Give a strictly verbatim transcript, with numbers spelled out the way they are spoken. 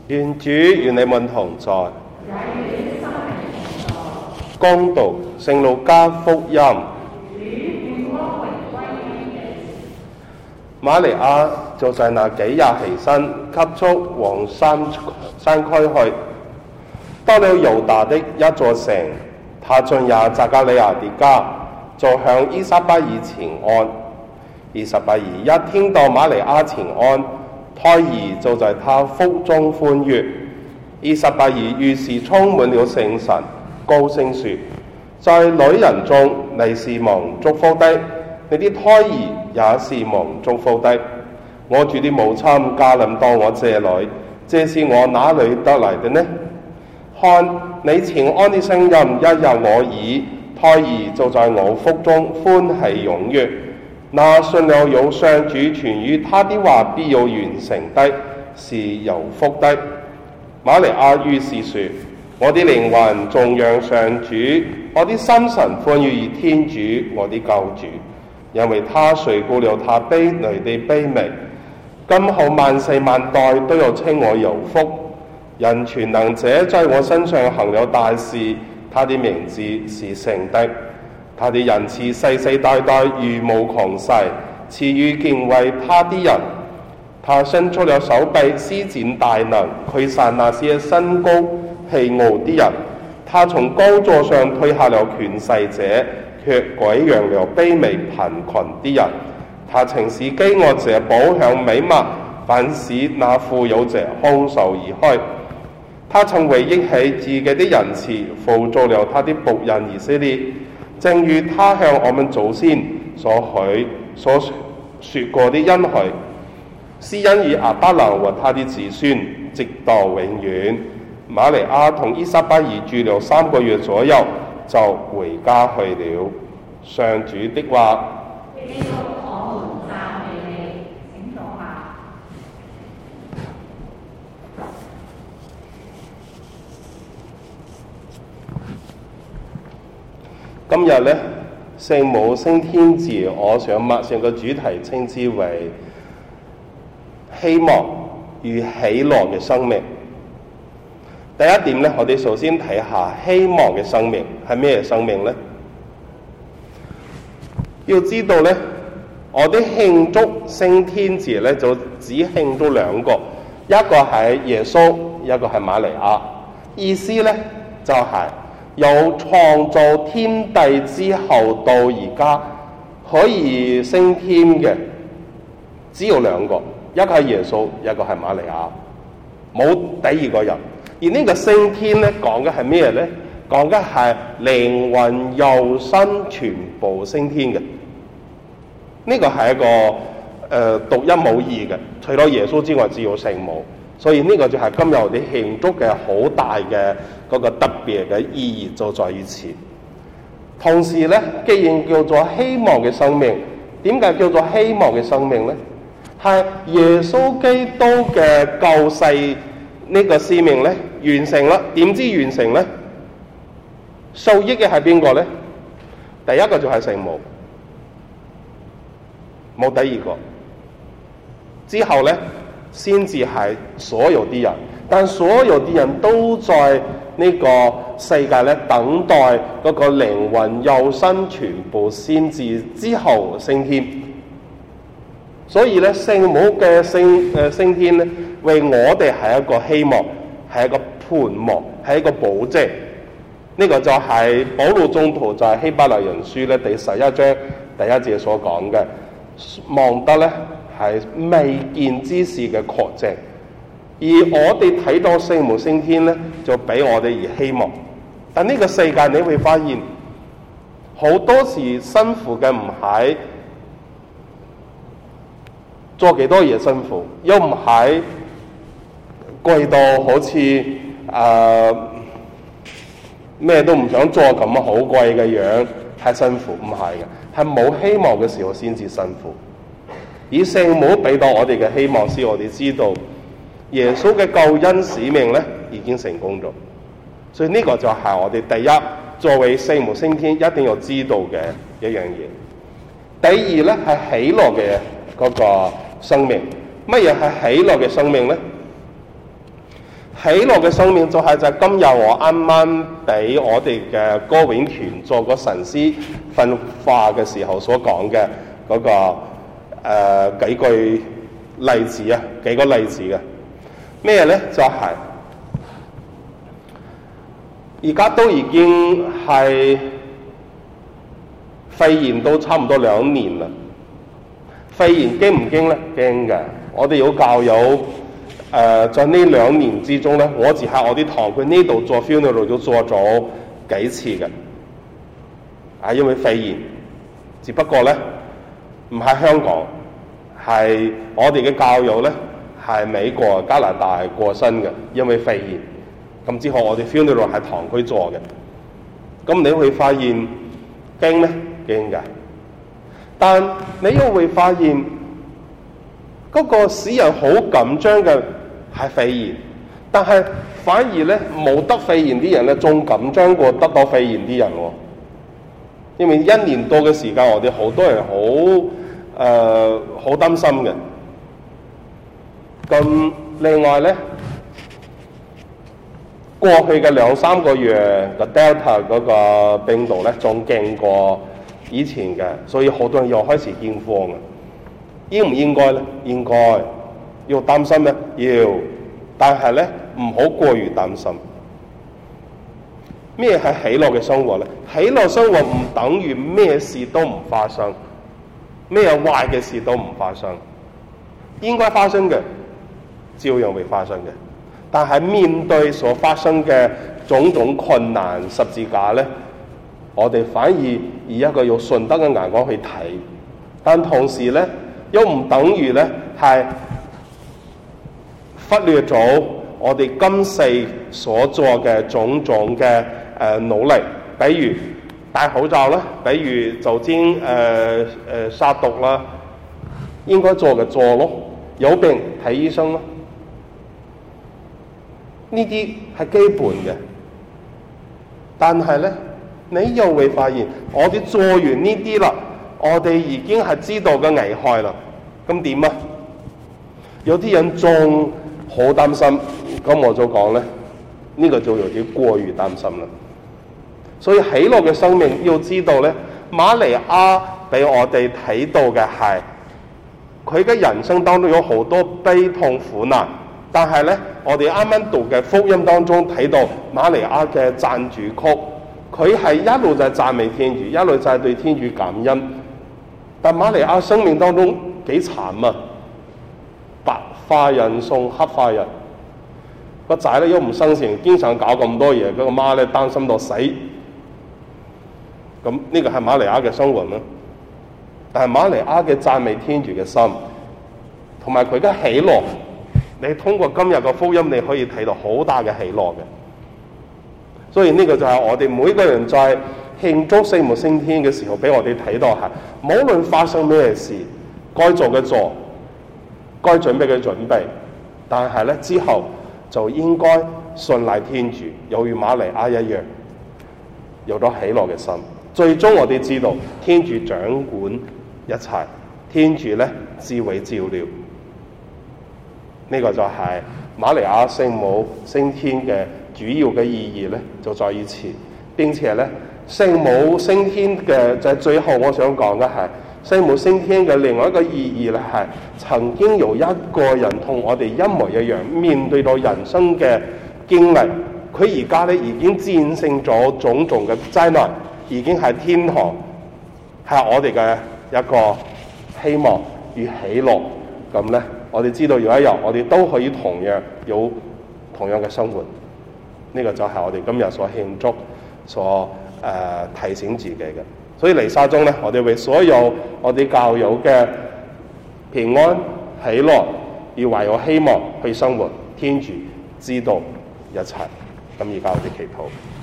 願主與你們同在。恭讀聖路加福音。瑪利亞就在那幾日起身，急速往山山區去，到了猶大的一座城，他進入匝加利亞的家，就向依撒伯爾請安。依撒伯爾一聽到瑪利亞請安，胎兒就在他腹中歡躍。依撒伯爾於是充滿了聖神，高聲說：在女人中你是蒙祝福的，你的胎兒也是蒙祝福的。我主的母親駕臨到我這裡，這是我哪裡得來的呢？看，你請安的聲音一入我耳，胎兒就在我腹中歡喜踴躍。那信了有上主傳於他的話必要完成的，是有福的。瑪利亞於是說：我的靈魂頌揚上主，我的心神歡愉於天主我的救主，因為他垂顧了他卑女的卑微。今後萬世萬代都要稱我有福，因全能者在我身上行了大事，他的名字是聖的。他的仁慈世世代代如無窮世，賜予敬畏他的人。他伸出了手臂，施展大能，驅散那些身高氣傲的人。他從高座上推下了權勢者，卻豢養了卑微貧窮的人。他曾使飢餓者飽享美物，反使那富有者空手而去。他曾回憶起自己的仁慈，扶助了他的僕人以色列，正如他向我們祖先所許所說過的恩許，施恩於亞伯蘭和他的子孫，直到永遠。瑪利亞同依撒伯爾住了三個月左右，就回家去了。上主的話。今日呢，聖母升天節，我想默上個主題稱之為希望與喜樂嘅生命。第一點呢，我哋首先睇下希望嘅生命係咩生命呢？要知道呢，我哋慶祝升天節呢，就只慶祝兩個，一個係耶穌，一個係瑪利亞。意思呢，就係、是由創造天地之後到而家可以升天嘅，只有兩個，一個係耶穌，一個係瑪利亞，冇第二個人。而呢個升天咧，講嘅係咩咧？講嘅係靈魂、肉身全部升天嘅。呢、這個係一個誒、呃、獨一無二嘅，除咗耶穌之外，只有聖母。所以呢個就係今日我哋慶祝嘅好大嘅嗰個特別嘅意義，就在於此。同時咧，既然叫做希望嘅生命，點解叫做希望嘅生命咧？係耶穌基督嘅救世呢個使命咧完成啦。點知完成咧？受益嘅係邊個咧？第一個就係聖母，冇第二個。之後咧，先至係所有啲人，但所有啲人都在呢個世界咧等待嗰個靈魂、肉身全部先至之後升天。所以咧，聖母嘅升誒升天咧，為我哋係一個希望，係一個盼望，係一個保證。呢、這個就係保祿宗徒在希伯來人書咧第十一章第一節所講嘅，望得咧係未見之事嘅確證。而我哋睇到聖母升天咧，就俾我哋而希望。但呢個世界你會發現，好多時辛苦嘅唔係做幾多嘢辛苦，又唔係貴到好似誒咩都唔想做咁好貴嘅樣，係辛苦，唔係嘅，係冇希望嘅時候先至辛苦。而聖母俾到我哋嘅希望，使我哋知道耶穌嘅救恩使命咧已經成功咗。所以呢個就係我哋第一作為聖母升天一定要知道嘅一樣嘢。第二咧係喜樂嘅嗰個生命。乜嘢係喜樂嘅生命咧？ 喜樂嘅生命就係就係今日我啱啱俾我哋嘅歌詠團做個神師訓話嘅時候所講嘅嗰個誒、呃、幾句例子啊，幾個例子嘅咩咧？就係而家都已經係肺炎都差唔多兩年啦。肺炎驚唔驚咧？驚嘅。我哋有教友誒，在呢兩年之中咧，我只喺我啲堂區呢度做 funeral 都做咗幾次嘅，啊，因為肺炎，只不過咧唔喺香港，係我哋嘅教友咧係美國、加拿大過身嘅，因為肺炎。咁之後我哋 funeral 喺堂區做嘅，咁你會發現驚咩？驚嘅。但你又會發現嗰個使人好緊張嘅係肺炎，但係反而咧冇得肺炎啲人咧仲緊張過得到肺炎啲人喎。因為一年多嘅時間，我哋好多人好誒好擔心嘅。咁另外咧，過去嘅兩三個月個 Delta 嗰個病毒咧仲勁過以前嘅，所以好多人又開始驚慌嘅。應唔應該咧？應該。要擔心咩？要。但係咧唔好過於擔心。咩係喜樂嘅生活咧？喜樂生活唔等於咩事都唔發生，咩壞嘅事都唔發生。應該發生嘅，照樣會發生嘅。但係面對所發生嘅種種困難十字架咧，我哋反而以一個用順德嘅眼光去睇，但同時咧又唔等於咧係忽略咗我哋今世所做嘅種種嘅誒、呃、努力，比如戴口罩啦，比如酒精誒誒殺毒啦，應該做嘅做咯，有病睇醫生咯，呢啲係基本嘅。但係咧，你又會發現，我哋做完呢啲啦，我哋已經係知道嘅危害啦。咁點啊？有啲人仲好擔心，咁我就講咧，呢、這個就有啲過於擔心啦。所以喜樂嘅生命要知道咧，瑪利亞俾我哋睇到嘅係，佢嘅人生當中有好多悲痛苦難。但係咧，我哋啱啱讀嘅福音當中睇到瑪利亞嘅讚主曲，佢係一路就係讚美天主，一路就係對天主感恩。但瑪利亞生命當中幾慘啊！白化人送黑化人，個仔咧又唔生性，經常搞咁多嘢，佢個媽咧擔心到死。咁呢個係瑪利亞嘅生活啦。但係瑪利亞嘅讚美天主嘅心，同埋佢嘅喜樂。你通過今日嘅福音，你可以睇到好大嘅喜樂嘅。所以呢個就係我哋每個人在慶祝聖母升天嘅時候，俾我哋睇到係，無論發生咩事，該做嘅做，該準備嘅準備，但係咧之後就應該信賴天主，有如瑪利亞一樣，有咗喜樂嘅心。最終我哋知道天主掌管一切，天主咧自會照料。呢個就係瑪利亞聖母升天嘅主要嘅意義咧，就在於此。並且咧，聖母升天嘅就係最後我想講嘅係聖母升天嘅另外一個意義咧，係曾經有一個人同我哋一模一樣面對到人生嘅經歷，佢而家咧已經戰勝咗種種嘅災難，已經係天堂，係我哋嘅一個希望與喜樂。咁咧，我哋知道有一日我哋都可以同樣有同樣嘅生活。呢、這個就係我哋今日所慶祝、所誒、呃、提醒自己嘅。所以彌撒中咧，我哋為所有我哋教友嘅平安喜樂，要懷有希望去生活。天主知道一切。咁而家我哋祈禱。